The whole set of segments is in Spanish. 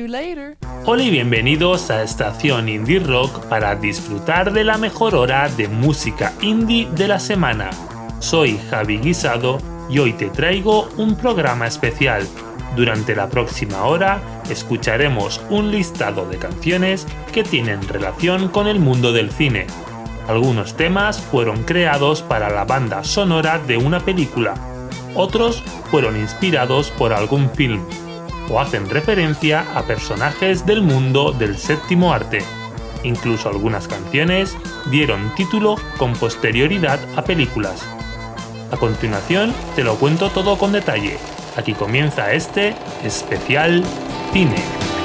you later. Hola y bienvenidos a Estación Indie Rock para disfrutar de la mejor hora de música indie de la semana. Soy Javi Guisado y hoy te traigo un programa especial. Durante la próxima hora escucharemos un listado de canciones que tienen relación con el mundo del cine. Algunos temas fueron creados para la banda sonora de una película, otros fueron inspirados por algún film, o hacen referencia a personajes del mundo del séptimo arte. Incluso algunas canciones dieron título con posterioridad a películas. A continuación te lo cuento todo con detalle. Aquí comienza este especial cine.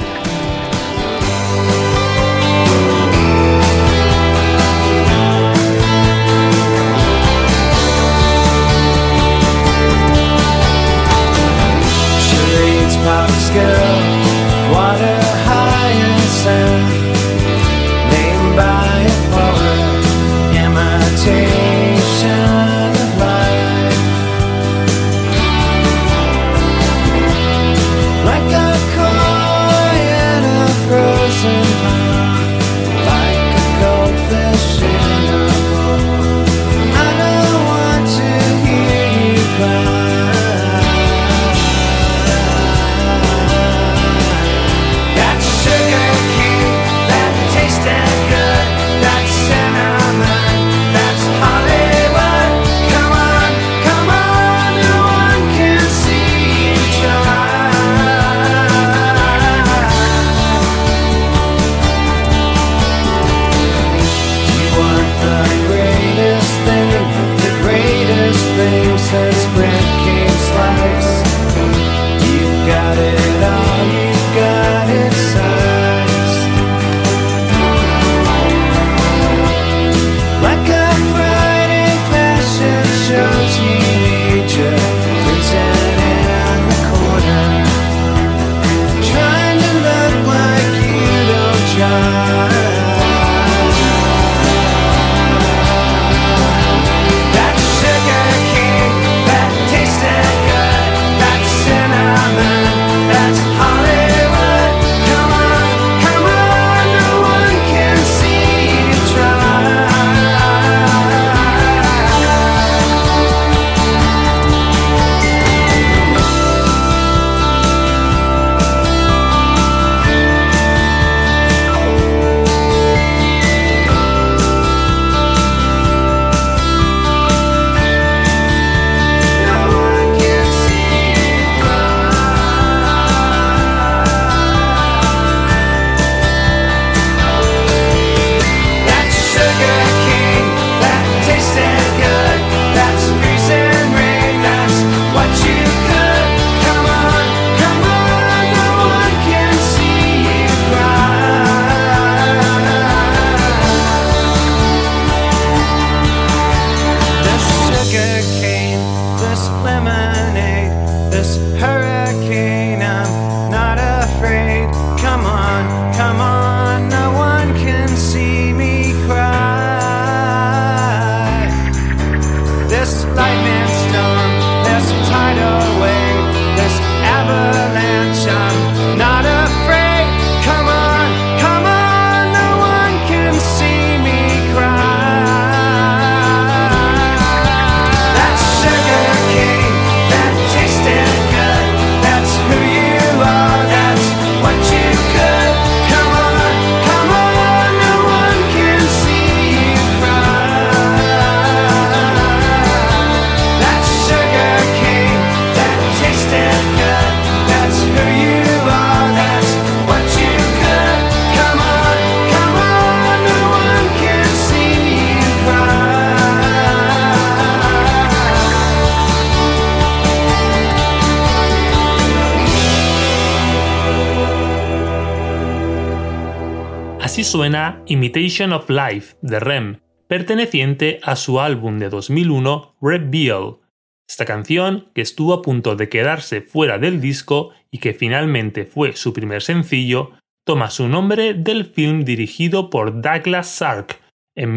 Así suena Imitation of Life de REM, perteneciente a su álbum de 2001 Reveal. Esta canción, que estuvo a punto de quedarse fuera del disco y que finalmente fue su primer sencillo, toma su nombre del film dirigido por Douglas Sirk en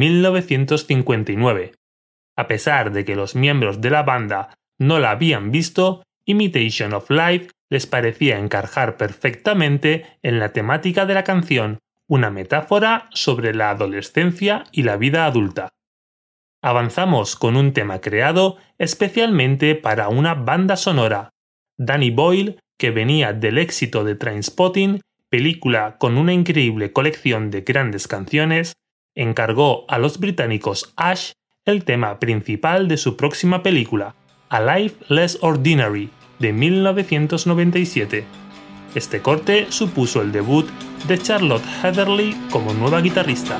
1959. A pesar de que los miembros de la banda no la habían visto, Imitation of Life les parecía encajar perfectamente en la temática de la canción, una metáfora sobre la adolescencia y la vida adulta. Avanzamos con un tema creado especialmente para una banda sonora, Danny Boyle, que venía del éxito de Trainspotting, película con una increíble colección de grandes canciones, encargó a los británicos Ash el tema principal de su próxima película, A Life Less Ordinary, de 1997. Este corte supuso el debut de Charlotte Heatherly como nueva guitarrista.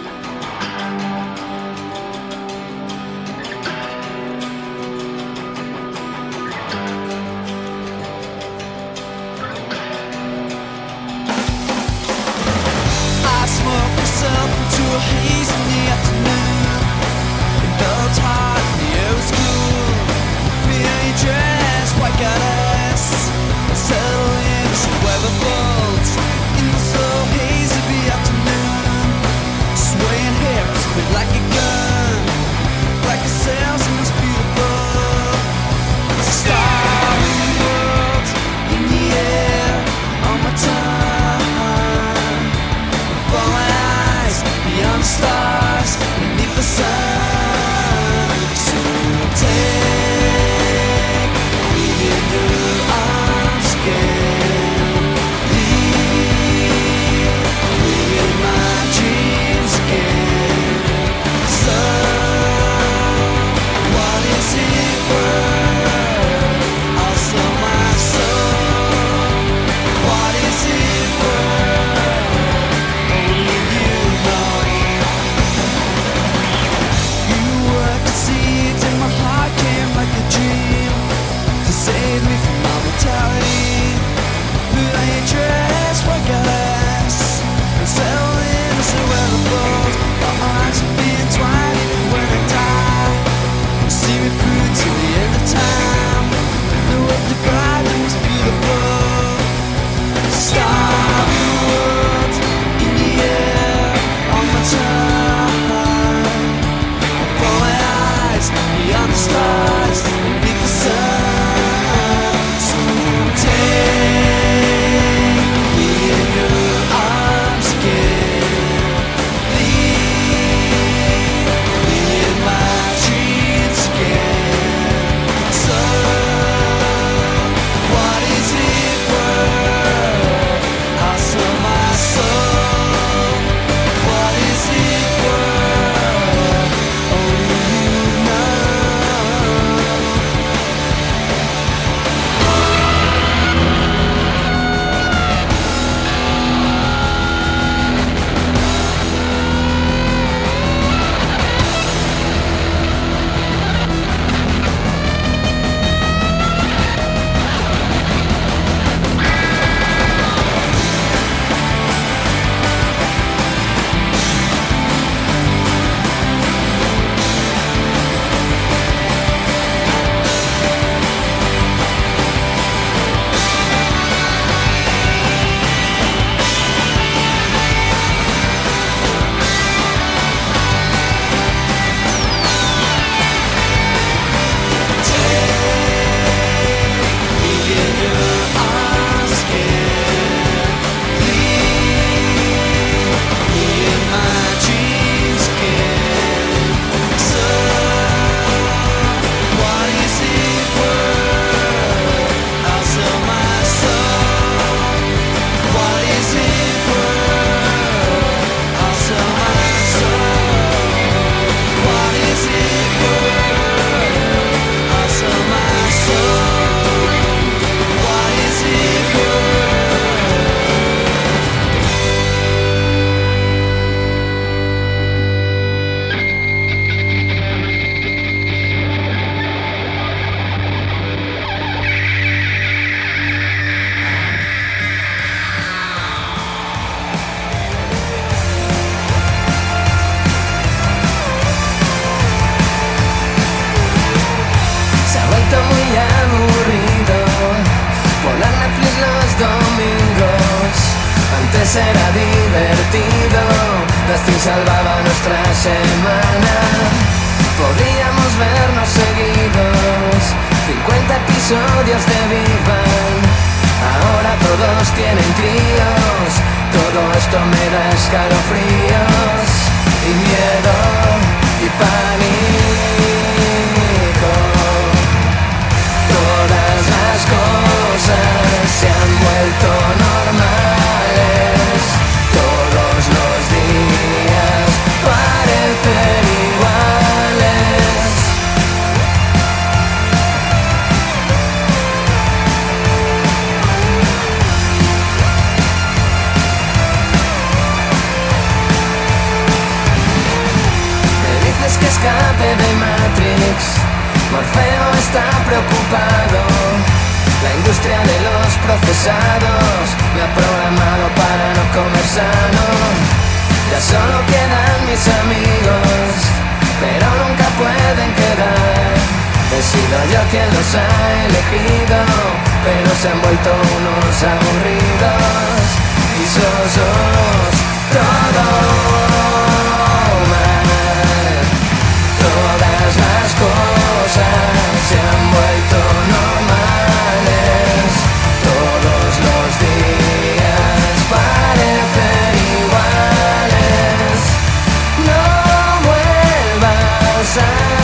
Era divertido, Dustin salvaba nuestra semana. Podíamos vernos seguidos, 50 episodios de Big Bang. tienen críos. Todo esto me da escalofríos y miedo y pánico. Todas las cosas se han vuelto normales. Todos los días parecen iguales. Me dices que escape de Matrix. Morfeo está preocupado. La industria de los procesados me ha programado para no comer sano. Ya solo quedan mis amigos, pero nunca pueden quedar. He sido yo quien los ha elegido, pero se han vuelto unos aburridos y sosos. Todo mal. Todas las cosas se han vuelto normales. Todos los días parecen iguales. No vuelvas a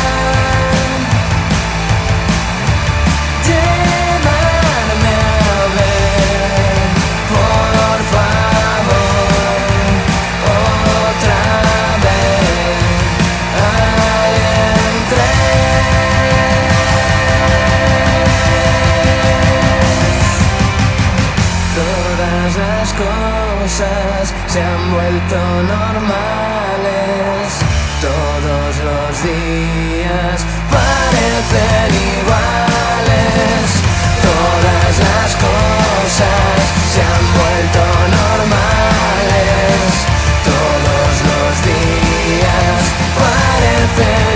llevarme a ver, por favor, otra vez. Alien 3. Todas las cosas se han vuelto normales. Todos los días parecen iguales. Todas las cosas se han vuelto normales. Todos los días parecen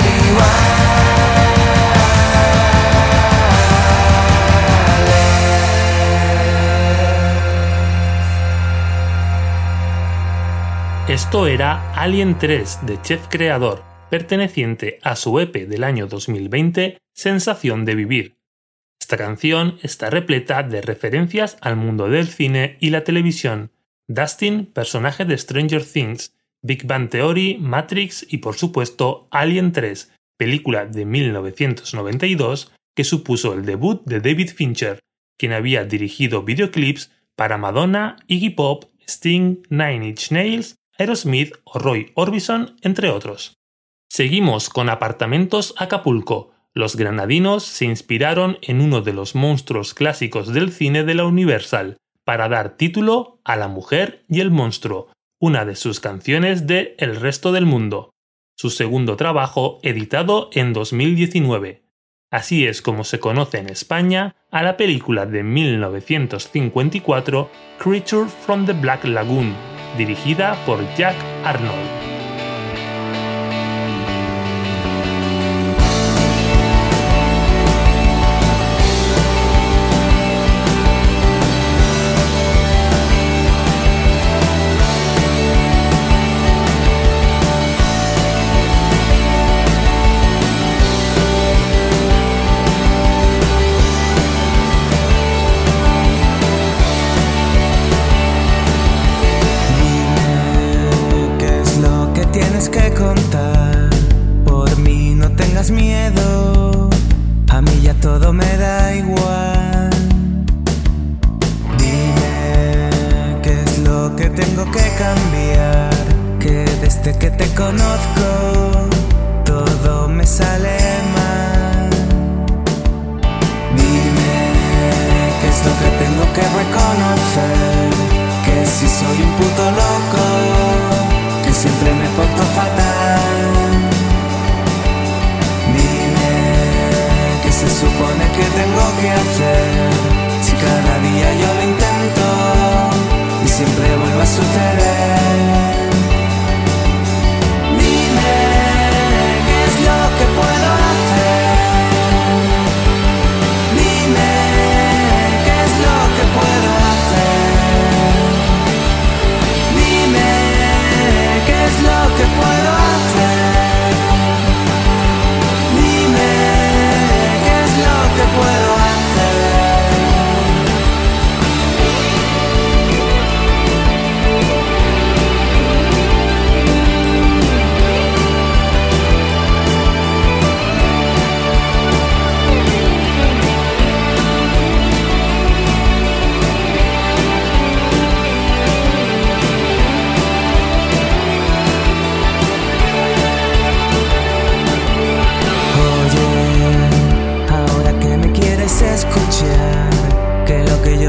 iguales. Esto era Alien 3 de Chef Creador, perteneciente a su EP del año 2020, Sensación de Vivir. Esta canción está repleta de referencias al mundo del cine y la televisión. Dustin, personaje de Stranger Things, Big Bang Theory, Matrix y por supuesto Alien 3, película de 1992 que supuso el debut de David Fincher, quien había dirigido videoclips para Madonna, Iggy Pop, Sting, Nine Inch Nails, Aerosmith o Roy Orbison, entre otros. Seguimos con Apartamentos Acapulco. Los granadinos se inspiraron en uno de los monstruos clásicos del cine de la Universal para dar título a La Mujer y el Monstruo, una de sus canciones de El Resto del Mundo, su segundo trabajo editado en 2019. Así es como se conoce en España a la película de 1954 Creature from the Black Lagoon, dirigida por Jack Arnold. Todo me da igual. Dime qué es lo que tengo que cambiar, que desde que te conozco todo me sale mal. Dime qué es lo que tengo que reconocer, que si soy un puto loco, que siempre me porto fatal. Se supone que tengo que hacer si cada día yo lo intento y siempre vuelve a suceder? Dime qué es lo que puedo hacer. Dime qué es lo que puedo hacer.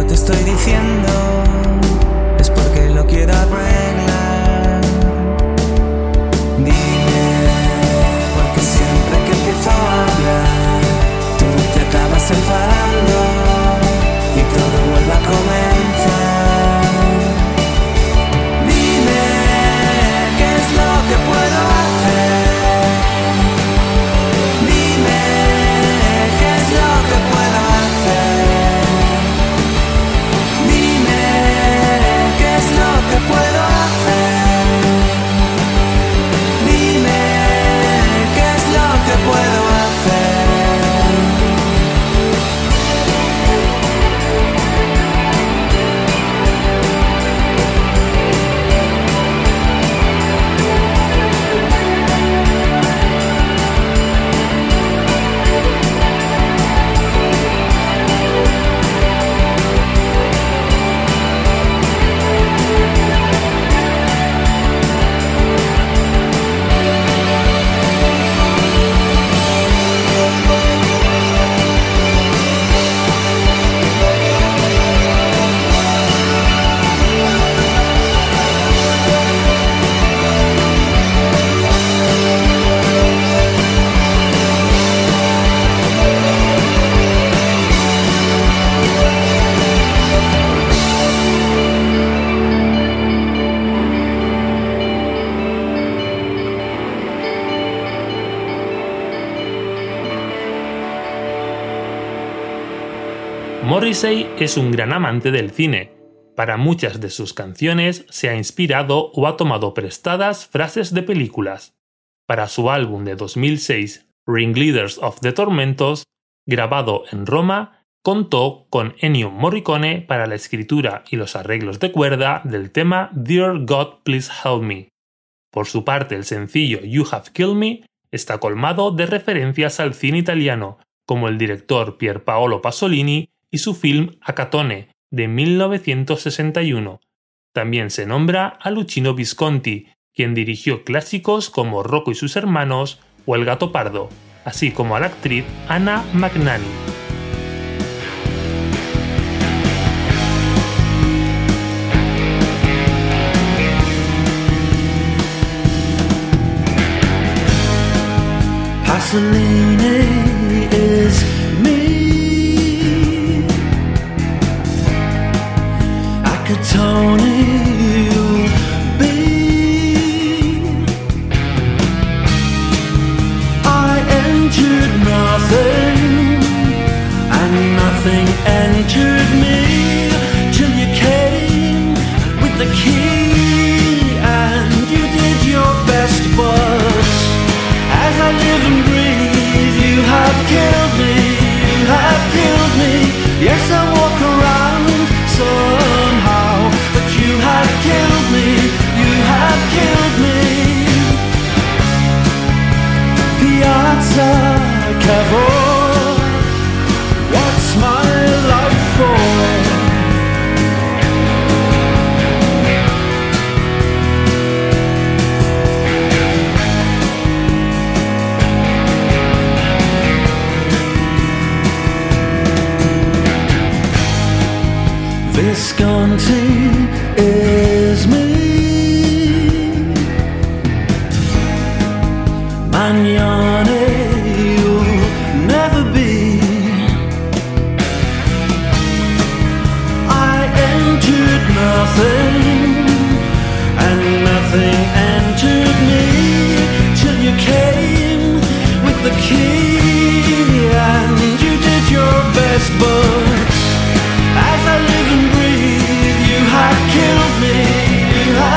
te estoy diciendo es porque lo quiero arreglar. Dime, porque siempre que empiezo a hablar tú te acabas enfadando y todo vuelve a comenzar. Dime, ¿qué es lo que puedo hacer? Dime, ¿qué es lo que puedo hacer? Dime, ¿qué es lo que puedo hacer? Dime, ¿qué es lo que puedo hacer? Morrissey es un gran amante del cine. Para muchas de sus canciones se ha inspirado o ha tomado prestadas frases de películas. Para su álbum de 2006, Ringleaders of the Tormentos, grabado en Roma, contó con Ennio Morricone para la escritura y los arreglos de cuerda del tema Dear God Please Help Me. Por su parte, el sencillo You Have Killed Me está colmado de referencias al cine italiano, como el director Pier Paolo Pasolini y su film Acatone, de 1961. También se nombra a Luchino Visconti, quien dirigió clásicos como Rocco y sus hermanos o El gato pardo, así como a la actriz Anna Magnani. Pasolini is me. Acatone you'll be. I entered nothing, and nothing entered me, till you came with the key, and you did your best, but as I live and breathe, you have killed me, you have killed me. Yes, I walk around somehow, but you have killed me, you have killed me. Piazza Cavour, what's my love for? Visconti is me. Magnani you'll never be. I entered nothing, and nothing entered me, till you came with the key, and you did your best, but as I live and breathe, you have killed me, you have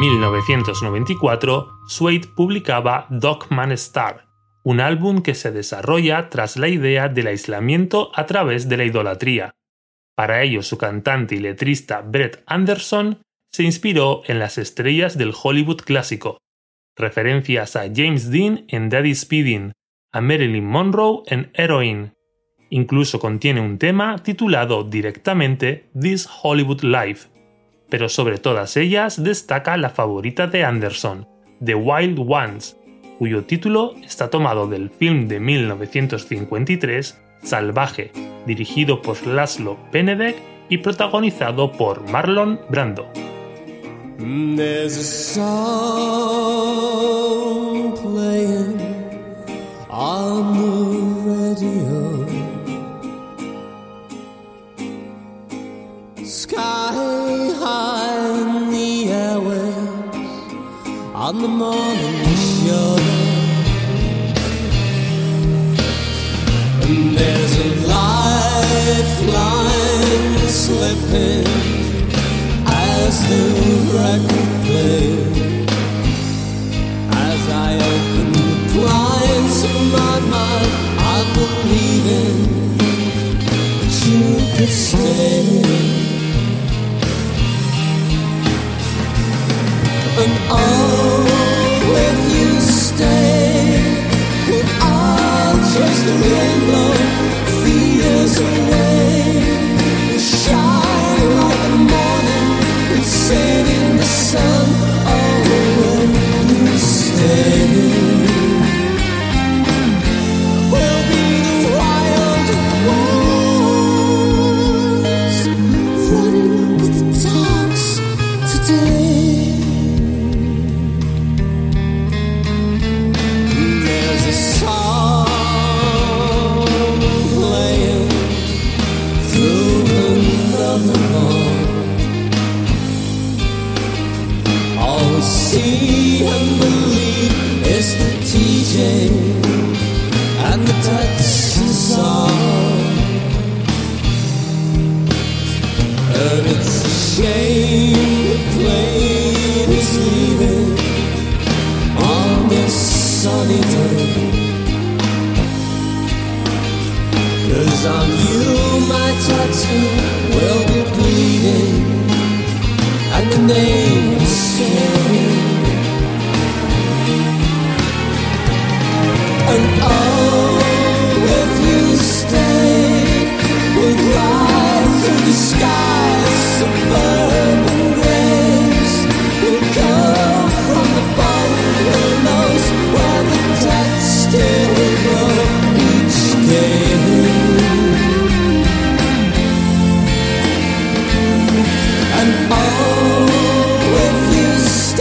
1994, Suede publicaba Dogman Star, un álbum que se desarrolla tras la idea del aislamiento a través de la idolatría. Para ello, su cantante y letrista Brett Anderson se inspiró en las estrellas del Hollywood clásico, referencias a James Dean en Daddy Speeding, a Marilyn Monroe en Heroin. Incluso contiene un tema titulado directamente This Hollywood Life, pero sobre todas ellas destaca la favorita de Anderson, The Wild Ones, cuyo título está tomado del film de 1953 Salvaje, dirigido por Laszlo Benedek y protagonizado por Marlon Brando. There's a song playing on the radio, sky high in the airwaves on the morning show, and there's a lifeline slipping as the record plays. As I open the blinds of my mind, I'm believing that you could stay. And oh, if you stay, we'll all chase the rainbow years away. We'll shine like the morning and sing in the sun. Oh, if you stay, we'll be the wild ones running with the dogs today. There's a song playing through another wall. All we see and believe is the DJ and the touch the song. And it's a shame the plane is leaving on this sunny day. 'Cause on you my tattoo will be bleeding and the name will stay. And oh, if you stay, we'll fly through the skies, suburban graves. We'll come from the bungalows where the dead still grow each day. And oh, if you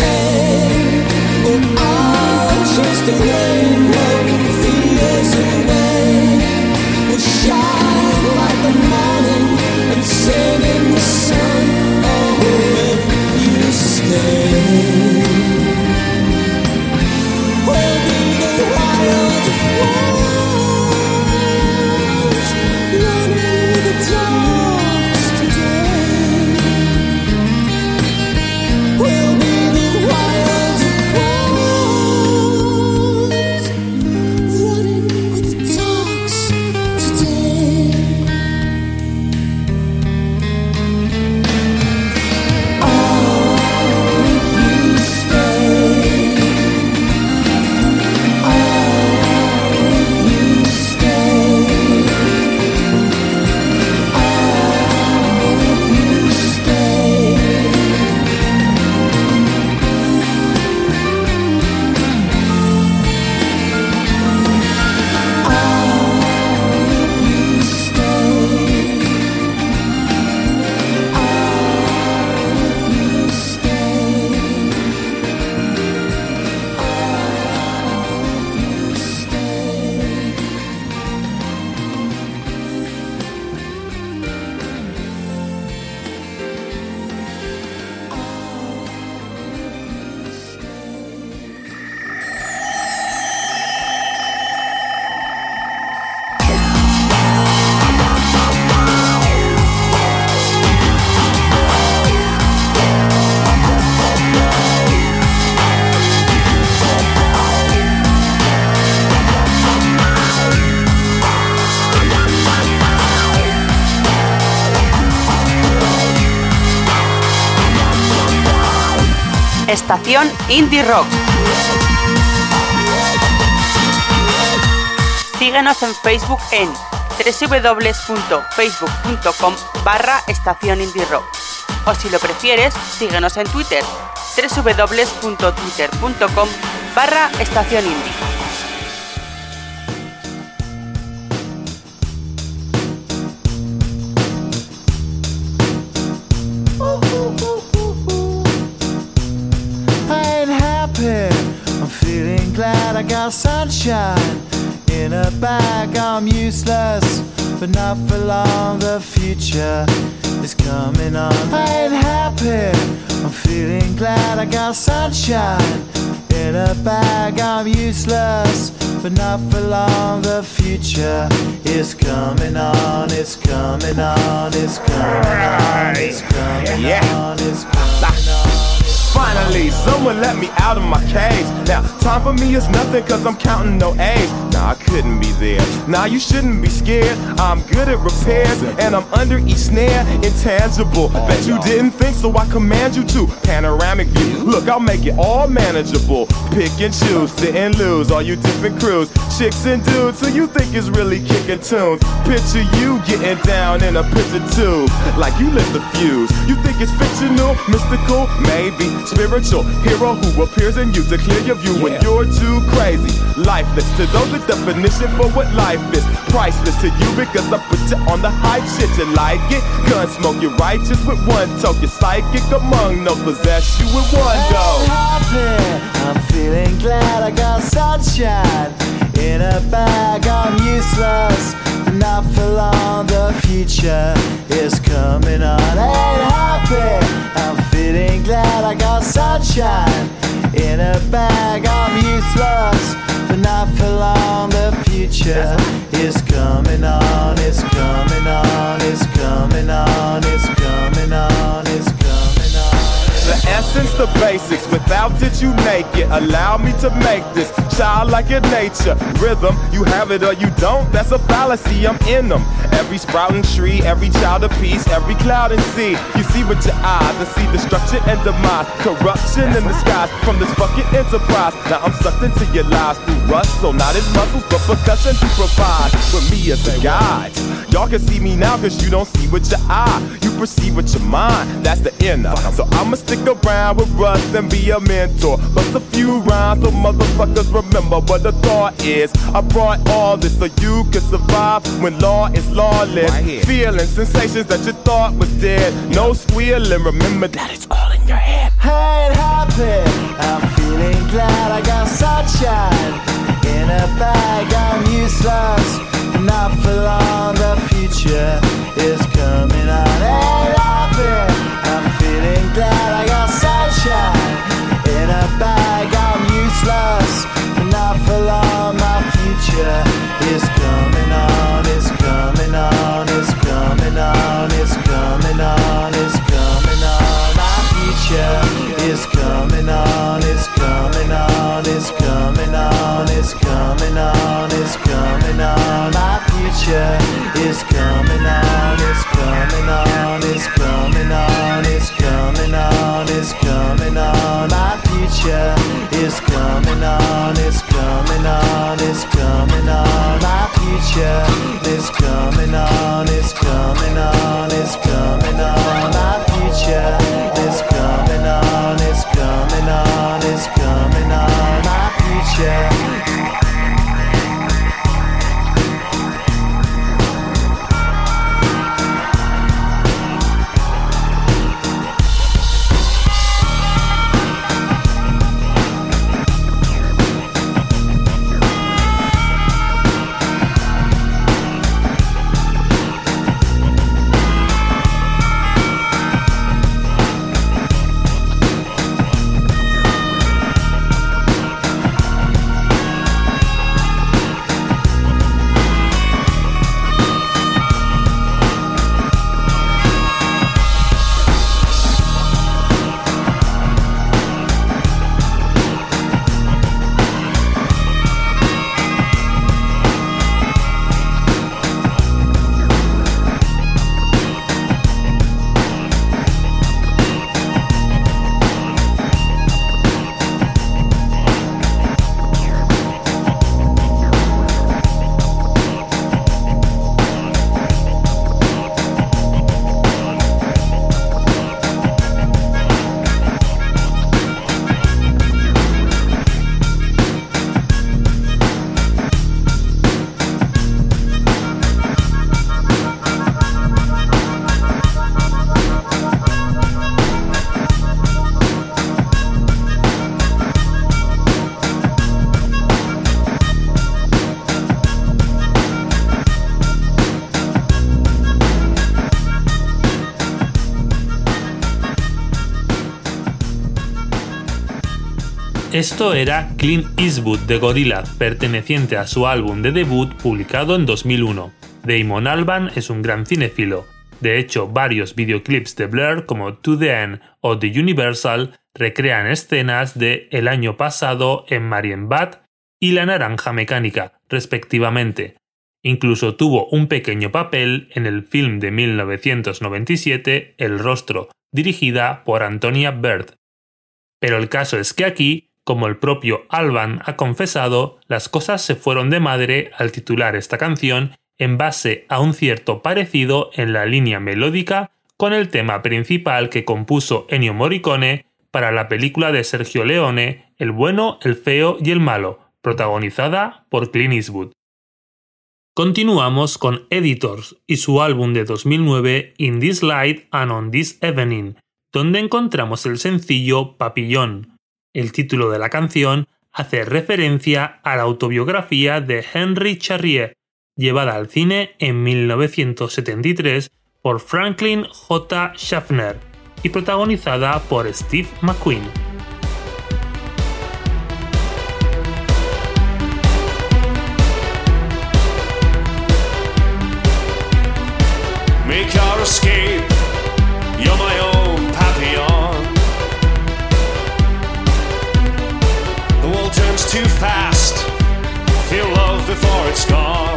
Estación Indie Rock. Síguenos en Facebook en www.facebook.com/Estación Indie Rock. O si lo prefieres, síguenos en Twitter, www.twitter.com/Estación Indie. I'm feeling glad I got sunshine in a bag. I'm useless, but not for long. The future is coming on. I ain't happy. I'm feeling glad I got sunshine in a bag. I'm useless, but not for long. The future is coming on. It's coming on. It's coming on. It's coming on. It's coming on. Finally, someone let me out of my cage. Now, time for me is nothing cause I'm counting no age. Nah, I couldn't be there. Nah, you shouldn't be scared. I'm good at repairs and I'm under each snare. Intangible. Bet you didn't think, so I command you to. Panoramic view. Look, I'll make it all manageable. Pick and choose, sit and lose. All you different crews, chicks and dudes who you think is really kicking tunes. Picture you getting down in a picture tube, like you lit the fuse. You think it's fictional, mystical, maybe. Spiritual hero who appears in you to clear your view when you're too crazy. Lifeless to those, the definition for what life is. Priceless to you because I put you on the hype shit. You like it? Gun smoke, you're righteous with one toke. You're psychic among no possess you with one go. I'm feeling glad I got sunshine in a bag. I'm useless, but not for long. The future is coming on. Ain't happy. I'm feeling glad I got sunshine in a bag. I'm useless, but not for long. The future is coming on. It's coming on. It's coming on. It's coming on. It's coming on. The essence, the basics, without it you make it. Allow me to make this childlike in nature. Rhythm, you have it or you don't, that's a fallacy, I'm in them. Every sprouting tree, every child of peace, every cloud and sea. You see with your eyes and see destruction and demise. Corruption in the skies from this fucking enterprise. Now I'm sucked into your lies through rust, so not as muscles but percussion to provide with me as a guide. Y'all can see me now cause you don't see with your eye. You perceive with your mind, that's the inner. So I'ma stick around with Russ and be a mentor. Bust a few rhymes so motherfuckers remember what the thought is. I brought all this so you can survive when law is lawless. Feeling sensations that you thought was dead. No squealing, remember that it's all in your head. I ain't happy. I'm feeling glad I got sunshine in a bag. I'm useless, not for long. The future is coming on. Ain't happy. I'm feeling glad I got sunshine in a bag. I'm useless, not for long. My future is coming on. It's coming on. It's coming on. It's coming on. It's coming on. My future is coming on. It's coming on. It's coming on. It's coming on. It's coming on. My future is coming on. It's coming on. It's coming on. It's coming on. It's coming on. My future is coming on. It's coming on. It's coming on. My future is coming on. It's coming on. It's coming on. My future is coming on. It's coming on. It's coming on. My future. Esto era Clint Eastwood de Gorillaz, perteneciente a su álbum de debut publicado en 2001. Damon Albarn es un gran cinéfilo. De hecho, varios videoclips de Blur como To the End o The Universal recrean escenas de El año pasado en Marienbad y La naranja mecánica, respectivamente. Incluso tuvo un pequeño papel en el film de 1997 El rostro, dirigida por Antonia Bird. Pero el caso es que aquí, como el propio Albarn ha confesado, las cosas se fueron de madre al titular esta canción en base a un cierto parecido en la línea melódica con el tema principal que compuso Ennio Morricone para la película de Sergio Leone El bueno, el feo y el malo, protagonizada por Clint Eastwood. Continuamos con Editors y su álbum de 2009 In This Light and on This Evening, donde encontramos el sencillo Papillon. El título de la canción hace referencia a la autobiografía de Henry Charrier, llevada al cine en 1973 por Franklin J. Schaffner y protagonizada por Steve McQueen. Make our escape, you're my own papillon. The world turns too fast, feel love before it's gone.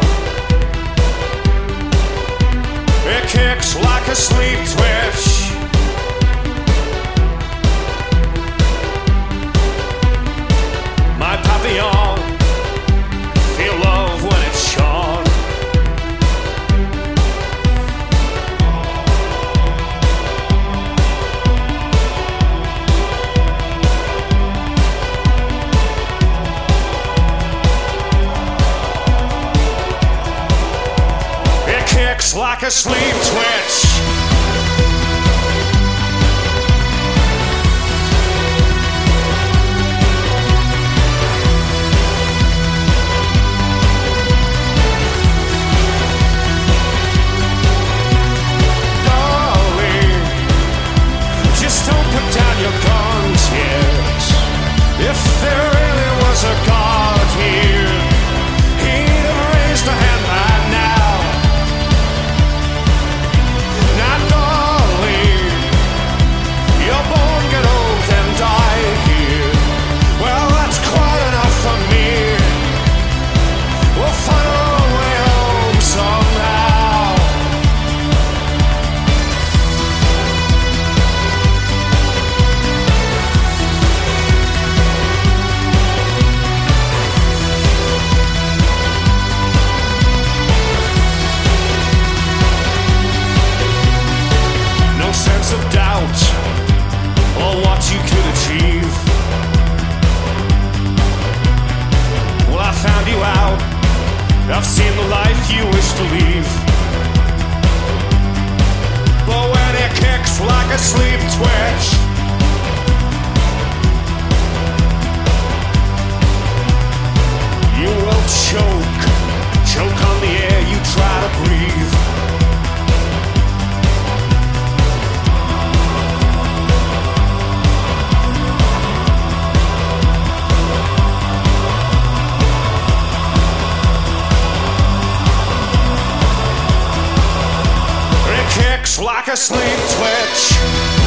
It kicks like a sleep twitch. My papillon, feel love when it's shone. Like a sleep twitch. Darling, just don't put down your guns yet. If there really was a God here, he'd have raised a hand by now. I've seen the life you wish to leave, but when it kicks like a sleep twitch, you will choke on the air you try to breathe. Like a sleep twitch.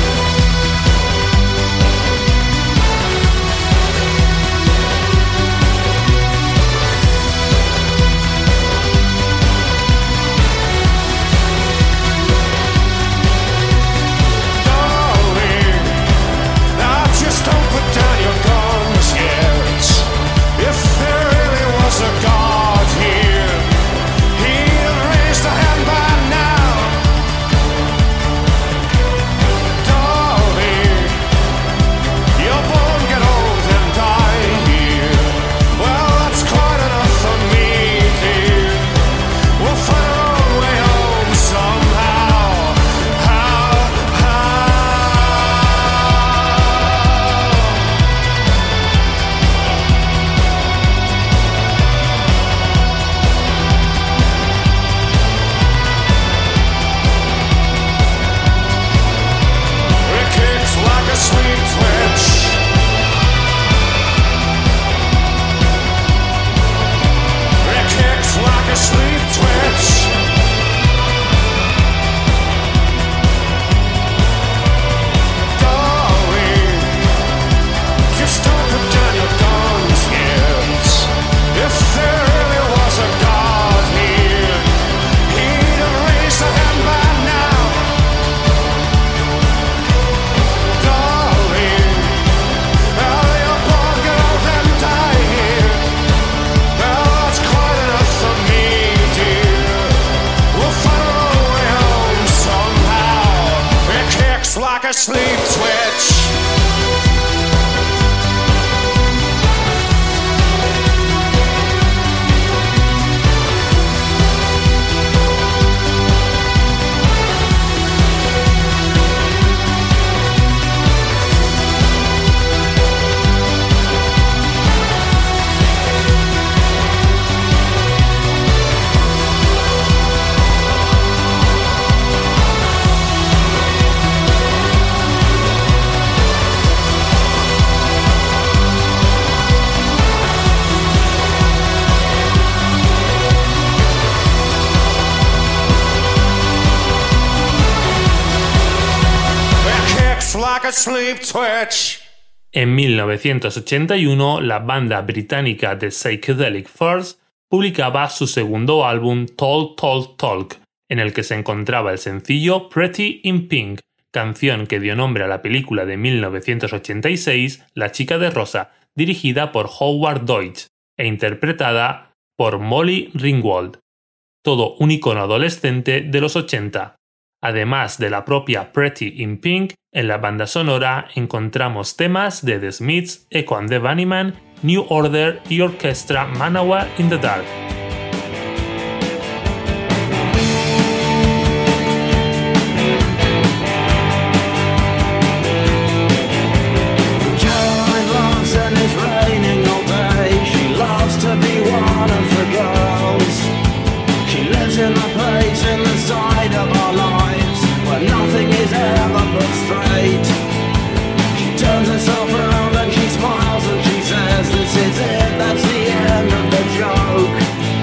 Darling, now just don't put down your guns yet. If there really was a God here, he'd have raised a hand by now. a sleep twitch. Like a sleep twitch. En 1981, la banda británica The Psychedelic Furs publicaba su segundo álbum Talk Talk Talk, en el que se encontraba el sencillo Pretty in Pink, canción que dio nombre a la película de 1986 La chica de rosa, dirigida por Howard Deutsch e interpretada por Molly Ringwald. Todo un icono adolescente de los 80. Además de la propia Pretty in Pink, en la banda sonora encontramos temas de The Smiths, Echo and the Bunnymen, New Order y Orchestra Manowar in the Dark. Nothing is ever put straight. She turns herself around and she smiles and she says, "This is it, that's the end of the joke."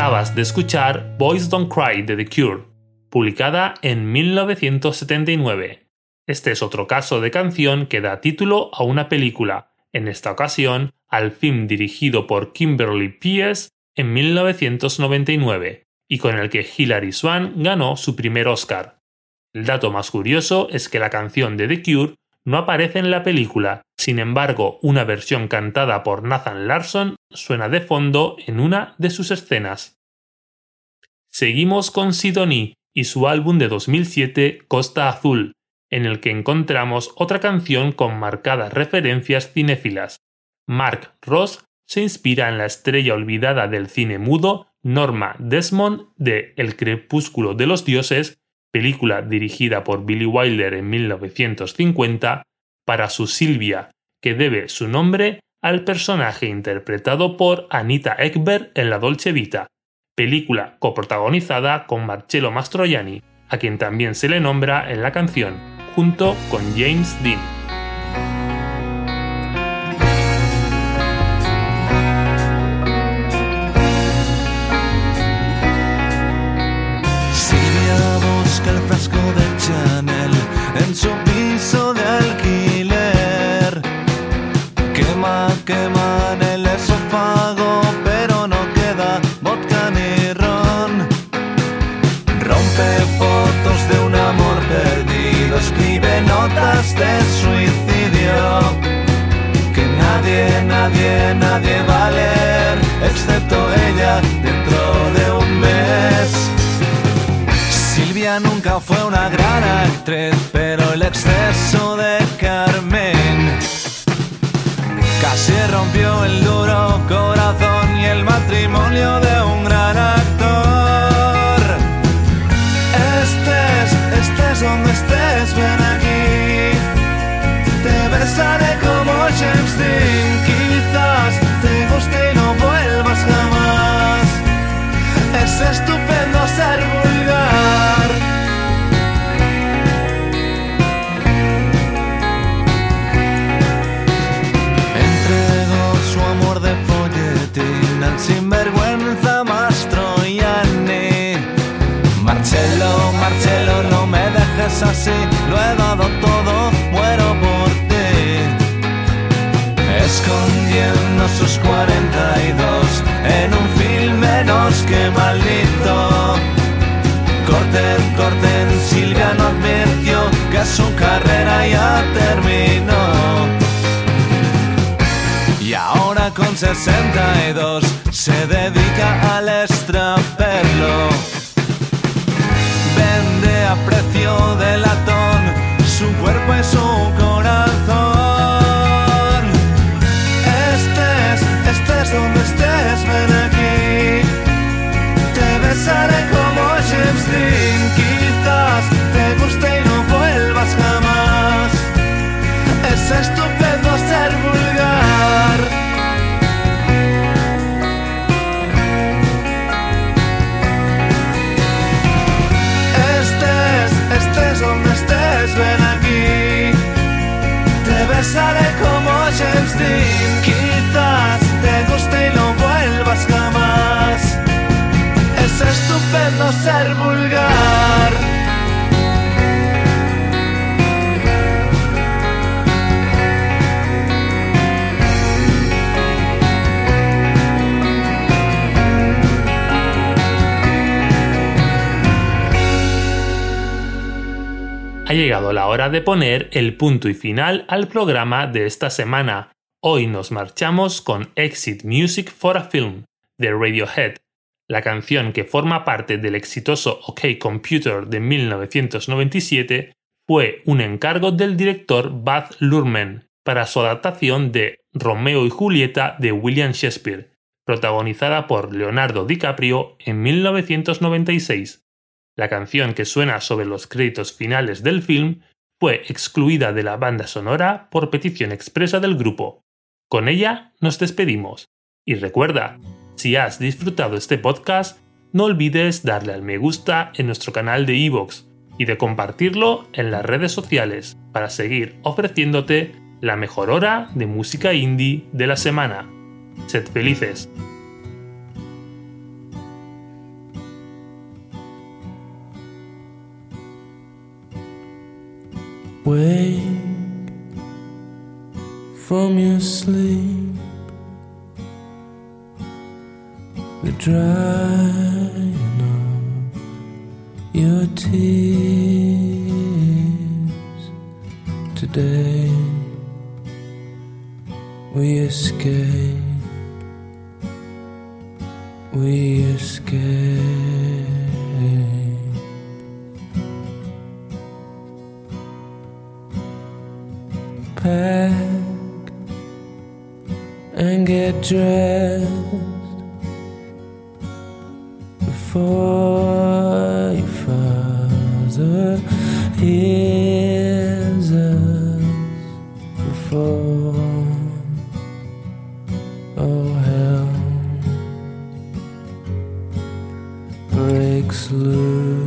Acabas de escuchar Boys Don't Cry de The Cure, publicada en 1979. Este es otro caso de canción que da título a una película, en esta ocasión al film dirigido por Kimberly Peirce en 1999, y con el que Hilary Swank ganó su primer Oscar. El dato más curioso es que la canción de The Cure no aparece en la película, sin embargo, una versión cantada por Nathan Larson suena de fondo en una de sus escenas. Seguimos con Sidonie y su álbum de 2007 Costa Azul, en el que encontramos otra canción con marcadas referencias cinéfilas. Mark Ross se inspira en la estrella olvidada del cine mudo Norma Desmond de El crepúsculo de los dioses, película dirigida por Billy Wilder en 1950, para su Silvia, que debe su nombre al personaje interpretado por Anita Ekberg en La Dolce Vita, película coprotagonizada con Marcello Mastroianni, a quien también se le nombra en la canción, junto con James Dean. El frasco de Chanel en su piso de alquiler. Quema en el esófago, pero no queda vodka ni ron. Rompe fotos de un amor perdido, escribe notas de suicidio. Que nadie va a leer, excepto ella, dentro de un mes. Silvia nunca fue una gran actriz, pero el exceso de Carmen casi rompió el duro corazón y el matrimonio de un gran actor. Estés donde estés, ven aquí. Te besaré como James Dean. Quizás te guste y no vuelvas jamás. Es estupendo ser vulgar. Entregó su amor de folletín al sinvergüenza Mastroianni. Marcello, no me dejes así, lo he dado todo, muero por ti. Escondiendo sus 42 en un film menos que maldito. Corten, Silvia no advirtió que su carrera ya terminó. Y ahora con 62 se dedica al extraperlo. Vende a precio de latón su cuerpo y su corazón. Estés donde estés, ven aquí. Te besaré como James Dean. Quizás te guste y no vuelvas jamás. Es estupendo ser vulgar. Estés donde estés, ven aquí. Te besaré como James Dean. Quizás te guste y no vuelvas jamás. Es estupendo ser vulgar. Ha llegado la hora de poner el punto y final al programa de esta semana. Hoy nos marchamos con Exit Music for a Film, de Radiohead. La canción, que forma parte del exitoso OK Computer de 1997, fue un encargo del director Baz Luhrmann para su adaptación de Romeo y Julieta de William Shakespeare, protagonizada por Leonardo DiCaprio en 1996. La canción, que suena sobre los créditos finales del film, fue excluida de la banda sonora por petición expresa del grupo. Con ella nos despedimos. Y recuerda, si has disfrutado este podcast, no olvides darle al me gusta en nuestro canal de iVoox y de compartirlo en las redes sociales para seguir ofreciéndote la mejor hora de música indie de la semana. Sed felices. Wake from your sleep, the drying of your tears. Today we escape, we escape. Pack and get dressed before your father hears us, before all hell breaks loose.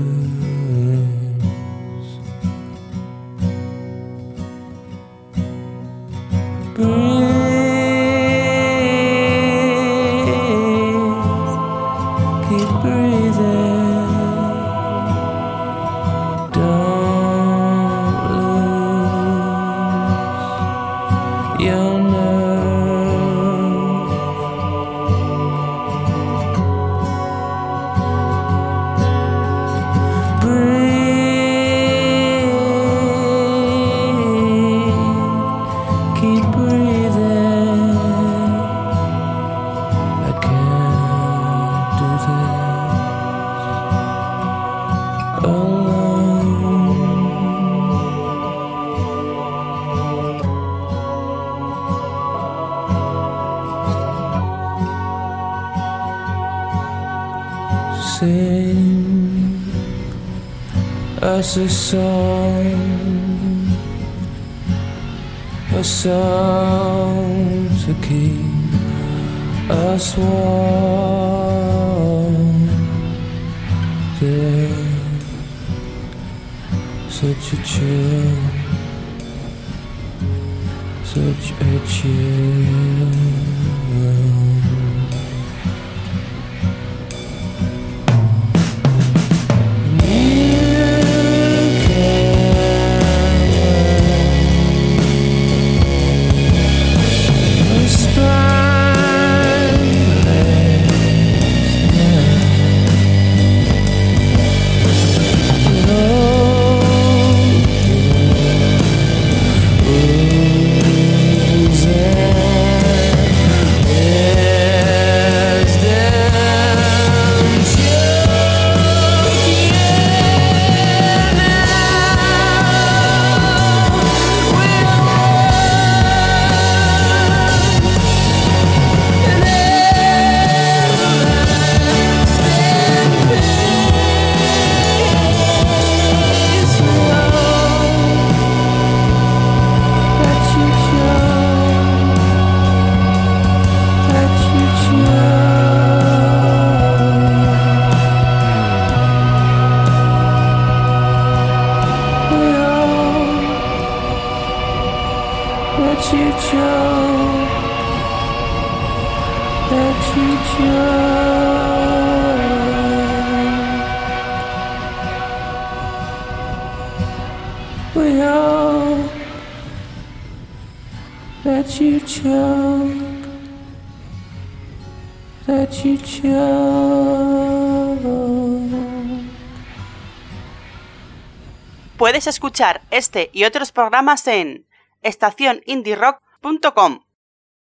Sing us a song to keep us warm. There's such a chill, such a chill. Puedes escuchar este y otros programas en estacionindierock.com.